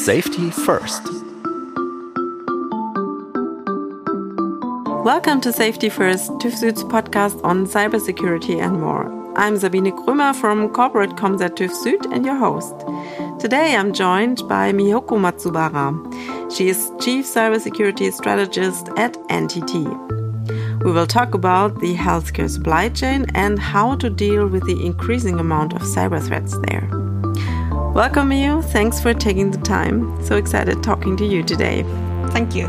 Safety First. Welcome to Safety First, TÜV Süd's podcast on cybersecurity and more. I'm Sabine Krömer from Corporate Comms at TÜV Süd and your host. Today I'm joined by Miyoko Matsubara. She is Chief Cybersecurity Strategist at NTT. We will talk about the healthcare supply chain and how to deal with the increasing amount of cyber threats there. Welcome, Miyo. Thanks for taking the time. So excited talking to you today. Thank you.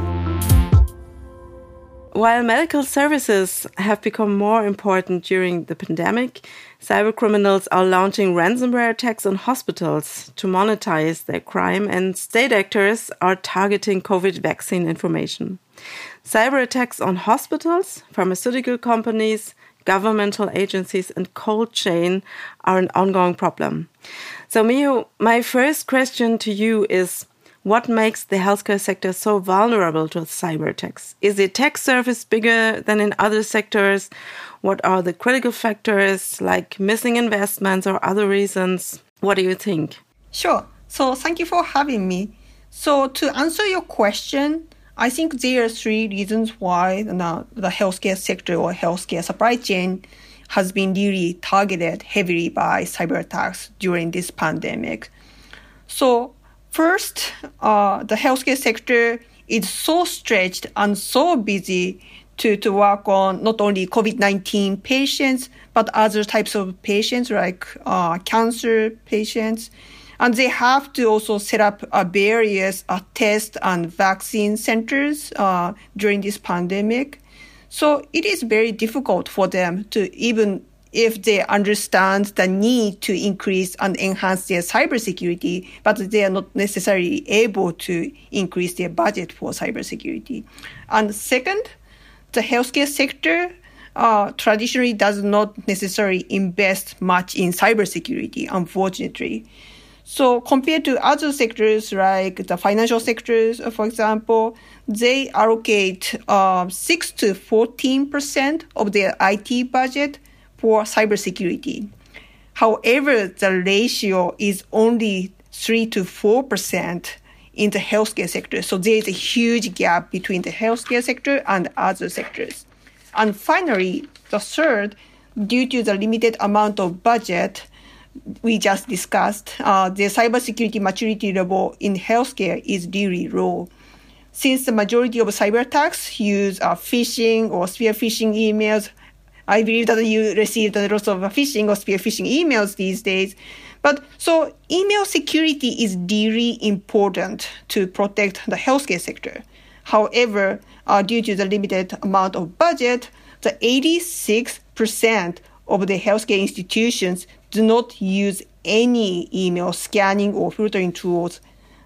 While medical services have become more important during the pandemic, cybercriminals are launching ransomware attacks on hospitals to monetize their crime, and state actors are targeting COVID vaccine information. Cyber attacks on hospitals, pharmaceutical companies, governmental agencies, and cold chain are an ongoing problem. So, Miyo, my first question to you is, what makes the healthcare sector so vulnerable to cyber attacks? Is the attack surface bigger than in other sectors? What are the critical factors, like missing investments or other reasons? What do you think? Sure. So thank you for having me. So to answer your question, I think there are three reasons why the healthcare sector or healthcare supply chain has been really targeted heavily by cyber attacks during this pandemic. So first, the healthcare sector is so stretched and so busy to work on not only COVID-19 patients, but other types of patients like cancer patients. And they have to also set up various test and vaccine centers during this pandemic. So it is very difficult for them to, even if they understand the need to increase and enhance their cybersecurity, but they are not necessarily able to increase their budget for cybersecurity. And second, the healthcare sector traditionally does not necessarily invest much in cybersecurity, unfortunately. So compared to other sectors like the financial sectors, for example, they allocate 6 to 14% of their IT budget for cybersecurity. However, the ratio is only 3 to 4% in the healthcare sector. So there is a huge gap between the healthcare sector and other sectors. And finally, the third, due to the limited amount of budget we just discussed, the cybersecurity maturity level in healthcare is really low. Since the majority of cyber attacks use phishing or spear phishing emails, I believe that you received a lot of phishing or spear phishing emails these days. But so email security is really important to protect the healthcare sector. However, due to the limited amount of budget, the 86% of the healthcare institutions do not use any email scanning or filtering tools.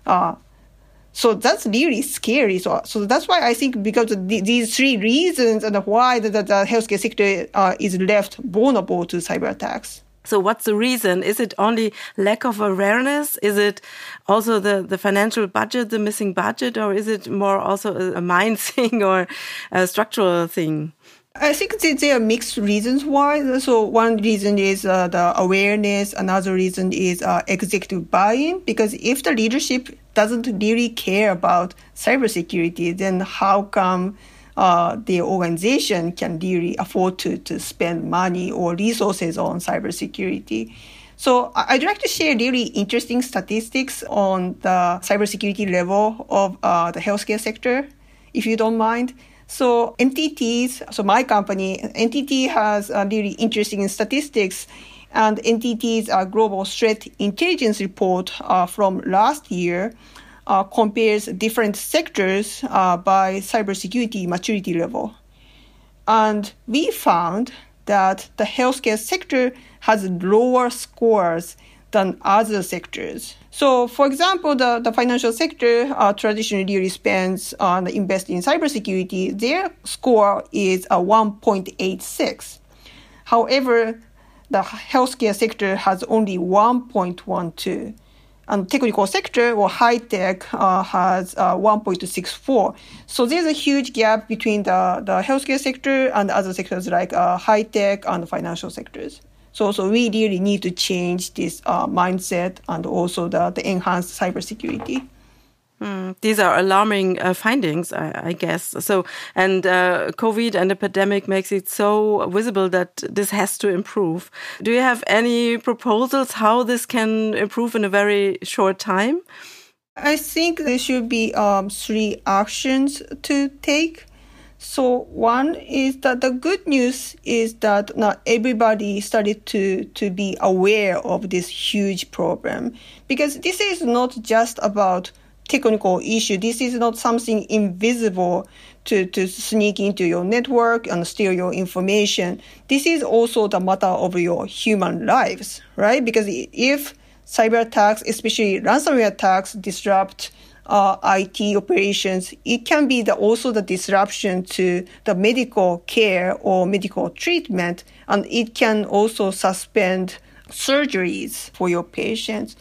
So that's really scary. So that's why I think because of these three reasons and why the healthcare sector is left vulnerable to cyber attacks. So what's the reason? Is it only lack of awareness? Is it also the financial budget, the missing budget, or is it more also a mind thing or a structural thing? I think there are mixed reasons why. So one reason is the awareness. Another reason is executive buy-in. Because if the leadership doesn't really care about cybersecurity, then how come the organization can really afford to spend money or resources on cybersecurity? So I'd like to share really interesting statistics on the cybersecurity level of the healthcare sector, if you don't mind. So NTT's, so my company, NTT has really interesting statistics, and NTT's Global Threat Intelligence Report from last year compares different sectors by cybersecurity maturity level. And we found that the healthcare sector has lower scores than other sectors. So, for example, the financial sector traditionally really spends on invest in cybersecurity. Their score is a 1.86. However, the healthcare sector has only 1.12. And technical sector or high tech has 1.64. So there's a huge gap between the healthcare sector and other sectors like high tech and financial sectors. So we really need to change this mindset and also the enhanced cybersecurity. These are alarming findings, I guess. So, and COVID and the pandemic makes it so visible that this has to improve. Do you have any proposals how this can improve in a very short time? I think there should be 3 actions to take. So one is that the good news is that not everybody started to be aware of this huge problem, because this is not just about technical issue. This is not something invisible to sneak into your network and steal your information. This is also the matter of your human lives, right? Because if cyber attacks, especially ransomware attacks, disrupt IT operations, it can be also the disruption to the medical care or medical treatment, and it can also suspend surgeries for your patients.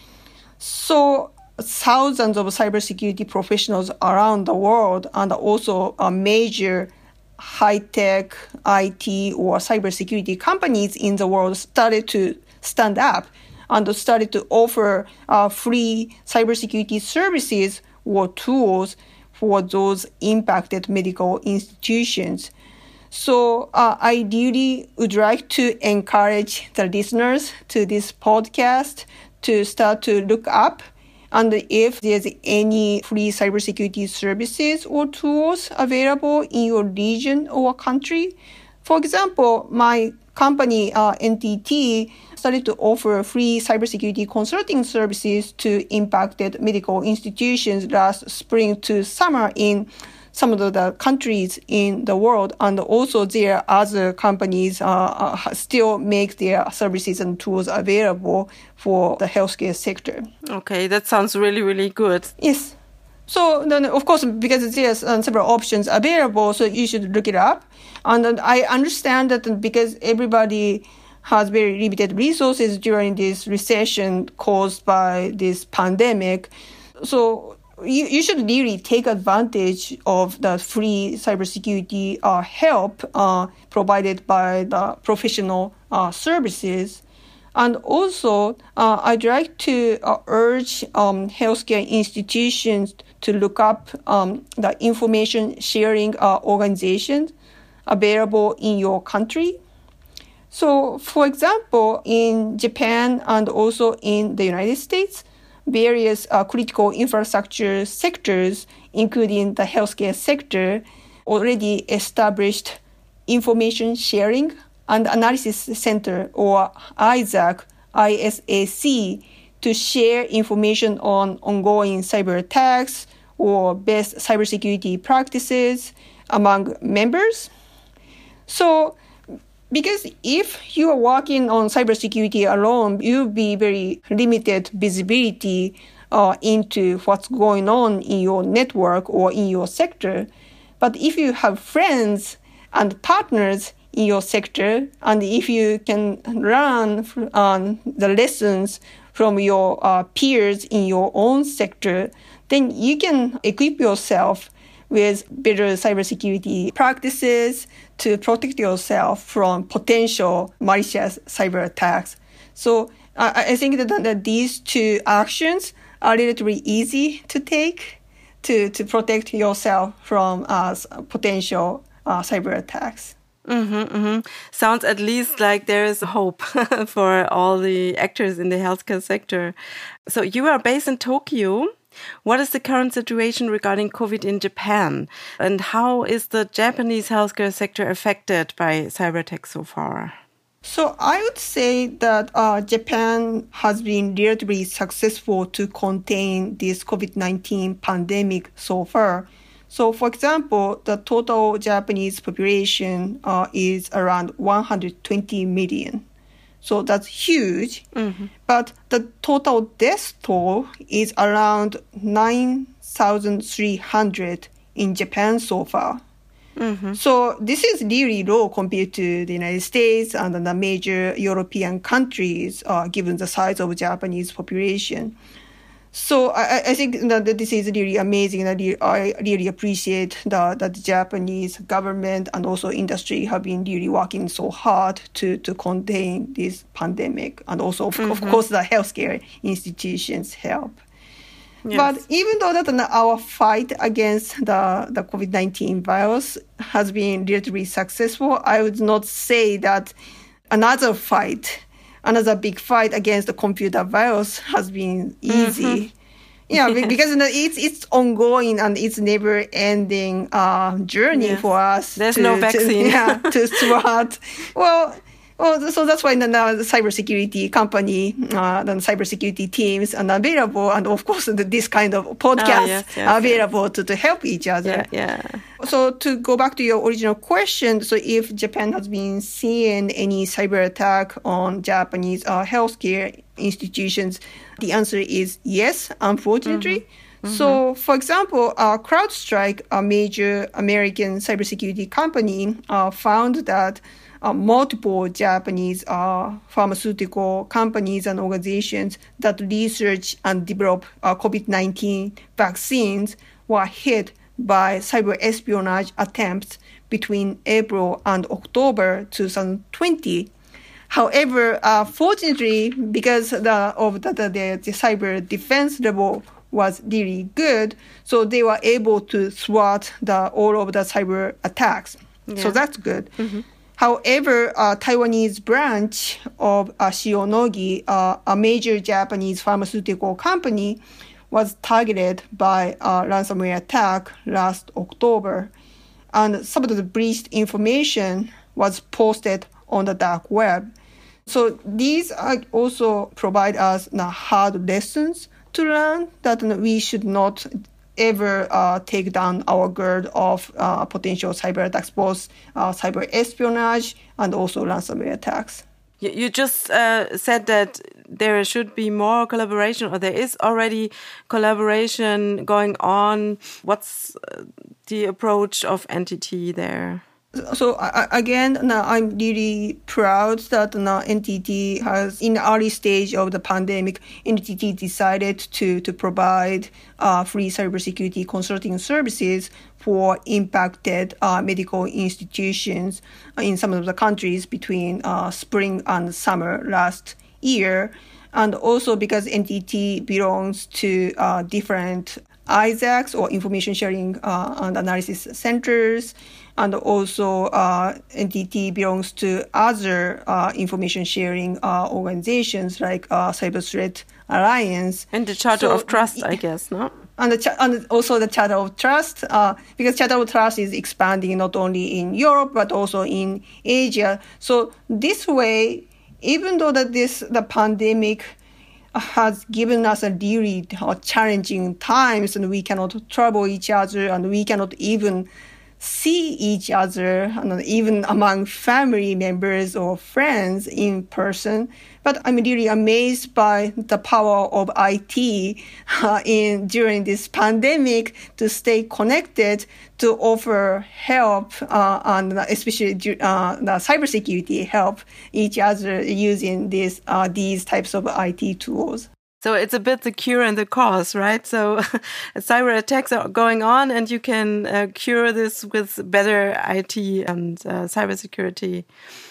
So thousands of cybersecurity professionals around the world and also major high-tech IT or cybersecurity companies in the world started to stand up and started to offer free cybersecurity services or tools for those impacted medical institutions. So I really would like to encourage the listeners to this podcast to start to look up, and if there's any free cybersecurity services or tools available in your region or country. For example, my company, NTT, started to offer free cybersecurity consulting services to impacted medical institutions last spring to summer in some of the countries in the world. And also there are other companies still make their services and tools available for the healthcare sector. Okay, that sounds really, really good. Yes. So then, of course, because there's several options available, so you should look it up. And I understand that because everybody has very limited resources during this recession caused by this pandemic, so you should really take advantage of the free cybersecurity help provided by the professional services. And also, I'd like to urge healthcare institutions to look up the information sharing organizations available in your country. So, for example, in Japan and also in the United States, various critical infrastructure sectors, including the healthcare sector, already established information sharing and analysis center, or ISAC, to share information on ongoing cyber attacks or best cybersecurity practices among members. So, because if you are working on cybersecurity alone, you'll be very limited visibility into what's going on in your network or in your sector. But if you have friends and partners in your sector, and if you can learn the lessons from your peers in your own sector, then you can equip yourself with better cybersecurity practices to protect yourself from potential malicious cyber attacks. So I think that these 2 actions are relatively easy to take to protect yourself from potential cyber attacks. Sounds at least like there is hope for all the actors in the healthcare sector. So you are based in Tokyo. What is the current situation regarding COVID in Japan? And how is the Japanese healthcare sector affected by cyber attacks so far? So I would say that Japan has been relatively successful to contain this COVID-19 pandemic so far. So, for example, the total Japanese population is around 120 million. So that's huge. But the total death toll is around 9,300 in Japan so far. So this is really low compared to the United States and the major European countries, given the size of Japanese population. So I think that this is really amazing. I really appreciate that the Japanese government and also industry have been really working so hard to contain this pandemic, and also, of course, the healthcare institutions help. Yes. But even though that our fight against the COVID-19 virus has been relatively successful, I would not say that another big fight against the computer virus has been easy. Yeah, because it's ongoing and it's never-ending journey for us. There's no vaccine. To thwart. Well, so that's why the cybersecurity company, the cybersecurity teams are available, and of course this kind of podcasts are available to help each other. Yeah. So to go back to your original question, so if Japan has been seeing any cyber attack on Japanese healthcare institutions, the answer is yes, unfortunately. So, for example, CrowdStrike, a major American cybersecurity company, found that multiple Japanese pharmaceutical companies and organizations that research and develop COVID-19 vaccines were hit by cyber espionage attempts between April and October 2020. However, fortunately, because the cyber defense level was really good, so they were able to thwart all of the cyber attacks. Yeah. So that's good. However, Taiwanese branch of Shionogi, a major Japanese pharmaceutical company, was targeted by a ransomware attack last October. And some of the breached information was posted on the dark web. So these also provide us hard lessons to learn that we should not ever take down our guard of potential cyber attacks, both cyber espionage and also ransomware attacks. You just said that there should be more collaboration, or there is already collaboration going on. What's the approach of NTT there? So again, I'm really proud that NTT has, in the early stage of the pandemic, NTT decided to provide free cybersecurity consulting services for impacted medical institutions in some of the countries between spring and summer last year. And also because NTT belongs to different ISACs, or information sharing and analysis centers, and also NTT belongs to other information sharing organizations like Cyber Threat Alliance. And the Charter of Trust, I guess, no? And also the Charter of Trust, because Charter of Trust is expanding not only in Europe, but also in Asia. So this way, even though the pandemic has given us a really challenging times, and we cannot travel each other, and we cannot even see each other, and even among family members or friends in person. But I'm really amazed by the power of IT during this pandemic to stay connected, to offer help, and especially the cybersecurity help each other using these types of IT tools. So it's a bit the cure and the cause, right? So cyber attacks are going on, and you can cure this with better IT and cybersecurity.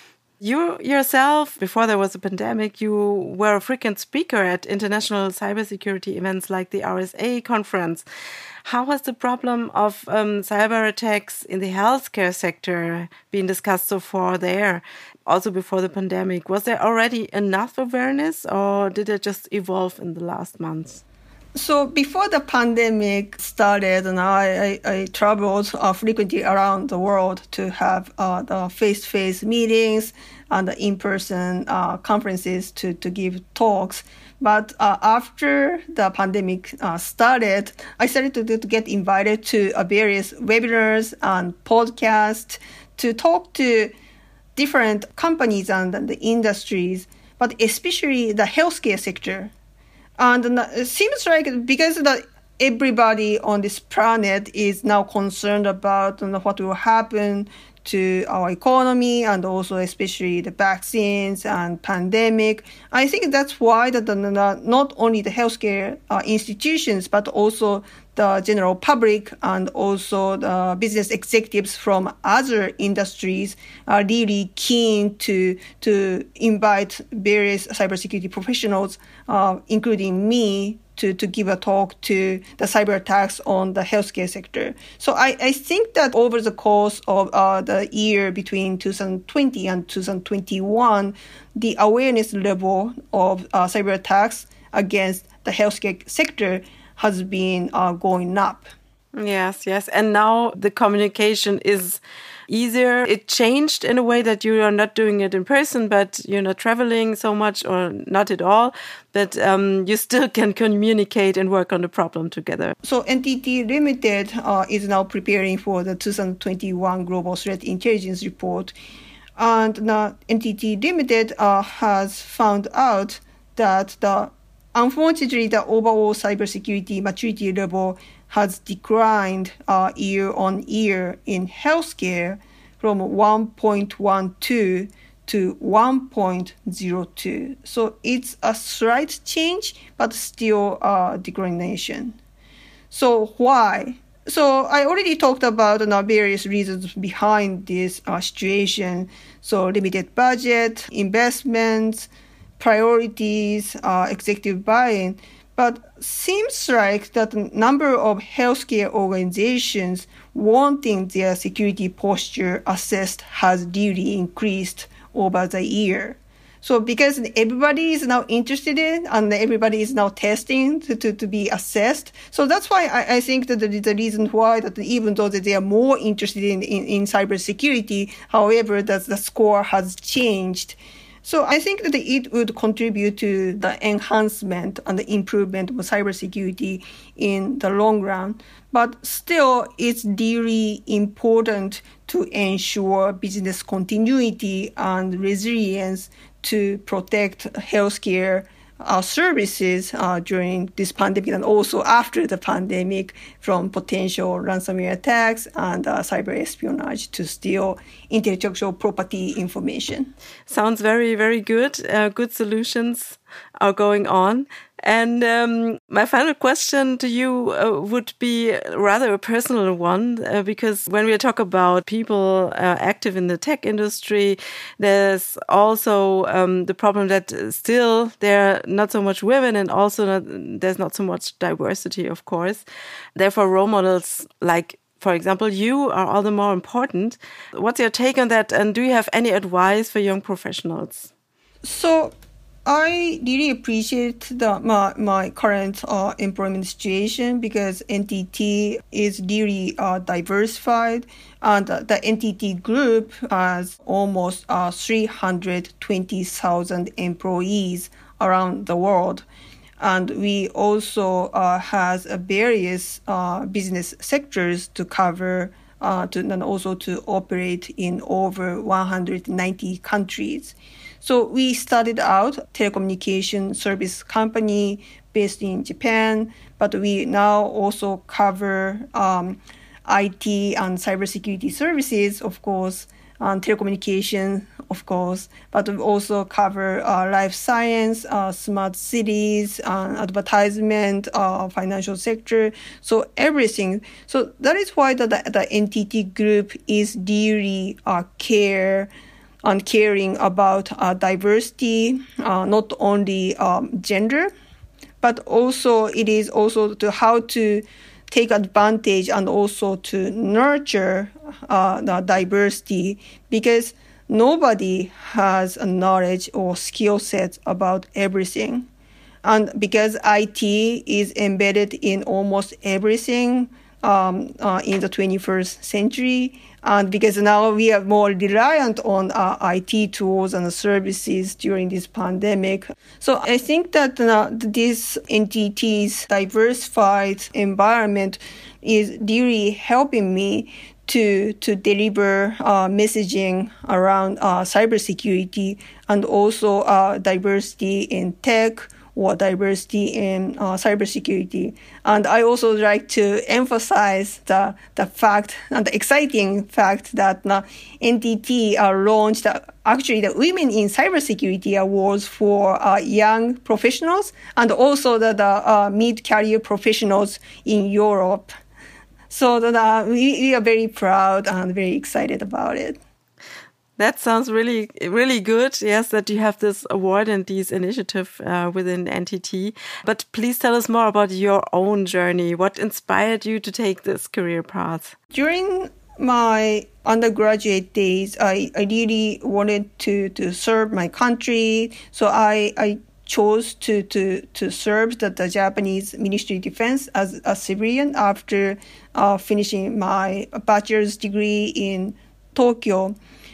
You yourself, before there was a pandemic, you were a frequent speaker at international cybersecurity events like the RSA conference. How has the problem of cyber attacks in the healthcare sector been discussed so far there, also before the pandemic? Was there already enough awareness, or did it just evolve in the last months? So before the pandemic started, and I traveled frequently around the world to have the face-to-face meetings and the in-person conferences to give talks. But after the pandemic started, I started to get invited to various webinars and podcasts to talk to different companies and the industries, but especially the healthcare sector. And it seems like because everybody on this planet is now concerned about what will happen to our economy, and also especially the vaccines and pandemic. I think that's why not only the healthcare institutions, but also the general public and also the business executives from other industries are really keen to invite various cybersecurity professionals, including me, to give a talk to the cyber attacks on the healthcare sector. So I think that over the course of the year between 2020 and 2021, the awareness level of cyber attacks against the healthcare sector has been going up. Yes, yes. And now the communication is easier. It changed in a way that you are not doing it in person, but you're not traveling so much or not at all. But you still can communicate and work on the problem together. So NTT Limited is now preparing for the 2021 Global Threat Intelligence Report. And now NTT Limited has found out that unfortunately, the overall cybersecurity maturity level has declined year on year in healthcare from 1.12 to 1.02. So it's a slight change, but still declination. So why? So I already talked about various reasons behind this situation. So limited budget, investments, priorities, executive buy-in. But seems like that the number of healthcare organizations wanting their security posture assessed has really increased over the year. So because everybody is now interested in and everybody is now testing to be assessed. So that's why I think that the reason why that even though that they are more interested in cybersecurity, however, that the score has changed. So I think that it would contribute to the enhancement and the improvement of cybersecurity in the long run. But still, it's really important to ensure business continuity and resilience to protect healthcare services during this pandemic and also after the pandemic from potential ransomware attacks and cyber espionage to steal intellectual property information. Sounds very, very good. Good solutions are going on. And my final question to you would be rather a personal one, because when we talk about people active in the tech industry, there's also the problem that still there are not so much women and also there's not so much diversity, of course. Therefore, role models like, for example, you are all the more important. What's your take on that? And do you have any advice for young professionals? So I really appreciate my current employment situation because NTT is really diversified, and the NTT group has almost 320,000 employees around the world. And we also has various business sectors to cover and also to operate in over 190 countries. So we started out telecommunication service company based in Japan, but we now also cover IT and cybersecurity services, of course, and telecommunication, of course, but we also cover life science, smart cities, advertisement, financial sector, so everything. So that is why the NTT group is really caring about diversity, not only gender, but also it is also to how to take advantage and also to nurture the diversity, because nobody has a knowledge or skill set about everything. And because IT is embedded in almost everything in the 21st century, and because now we are more reliant on IT tools and services during this pandemic. So I think that this NTT's diversified environment is really helping me to deliver messaging around cybersecurity and also diversity in tech or diversity in cybersecurity. And I also like to emphasize the fact and the exciting fact that NTT launched actually the Women in Cybersecurity Awards for young professionals and also the mid-career professionals in Europe. So we are very proud and very excited about it. That sounds really, really good. Yes, that you have this award and this initiative within NTT. But please tell us more about your own journey. What inspired you to take this career path? During my undergraduate days, I really wanted to serve my country. So I chose to serve the Japanese Ministry of Defense as a civilian after finishing my bachelor's degree in Tokyo.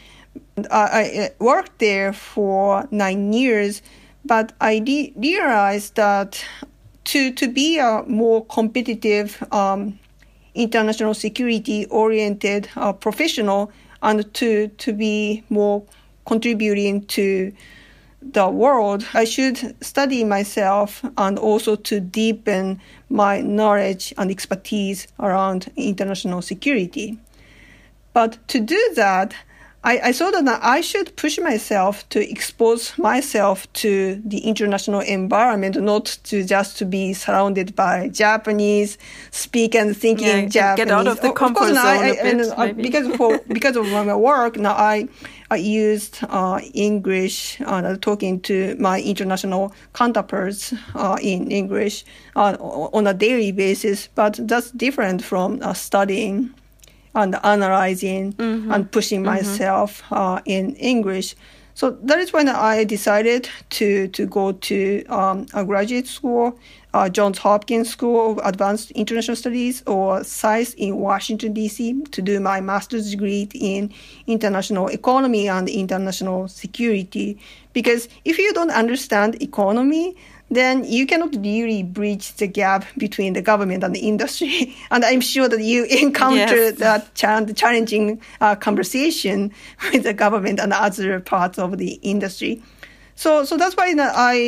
I worked there for 9 years, but I realized that to be a more competitive international security-oriented professional and to be more contributing to the world, I should study myself and also to deepen my knowledge and expertise around international security. But to do that, I saw that I should push myself to expose myself to the international environment, not to just to be surrounded by Japanese, speak and thinking Japanese. Get out of the comfort zone because of my work, now I used English, talking to my international counterparts in English on a daily basis, but that's different from studying and analyzing and pushing myself in English. So that is when I decided to go to a graduate school, Johns Hopkins School of Advanced International Studies, or SAIS in Washington, D.C., to do my master's degree in international economy and international security. Because if you don't understand economy, then you cannot really bridge the gap between the government and the industry. And I'm sure that you encountered that challenging conversation with the government and other parts of the industry. So that's why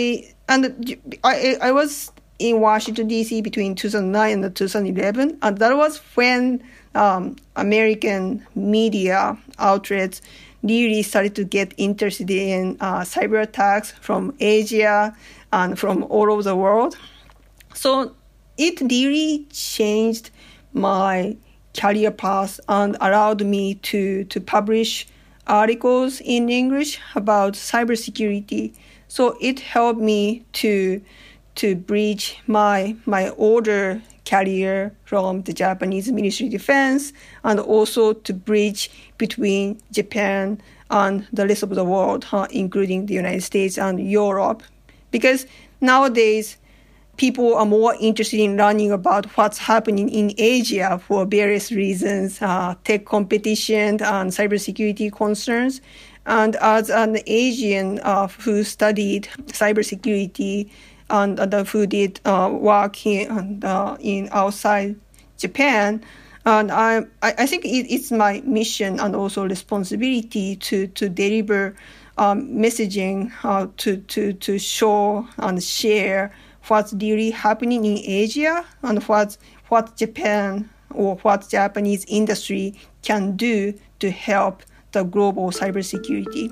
I was in Washington, D.C. between 2009 and 2011. And that was when American media outlets really started to get interested in cyber attacks from Asia and from all over the world. So it really changed my career path and allowed me to publish articles in English about cybersecurity. So it helped me to bridge my older career from the Japanese Ministry of Defense, and also to bridge between Japan and the rest of the world, including the United States and Europe. Because nowadays, people are more interested in learning about what's happening in Asia for various reasons, tech competition and cybersecurity concerns. And as an Asian who studied cybersecurity and who did work in outside Japan, and I think it's my mission and also responsibility to deliver messaging to show and share what's really happening in Asia and what Japan or what Japanese industry can do to help the global cybersecurity.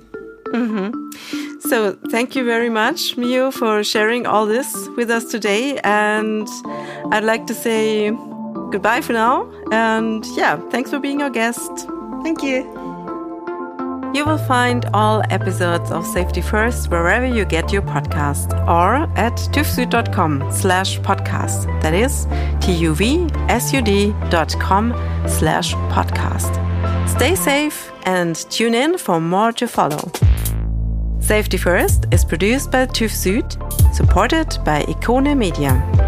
So thank you very much, Mio, for sharing all this with us today. And I'd like to say goodbye for now. And thanks for being our guest. Thank you. You will find all episodes of Safety First wherever you get your podcast, or at tuvsud.com/podcast. That is tuvsud.com/podcast. Stay safe and tune in for more to follow. Safety First is produced by TÜV Süd, supported by Ikone Media.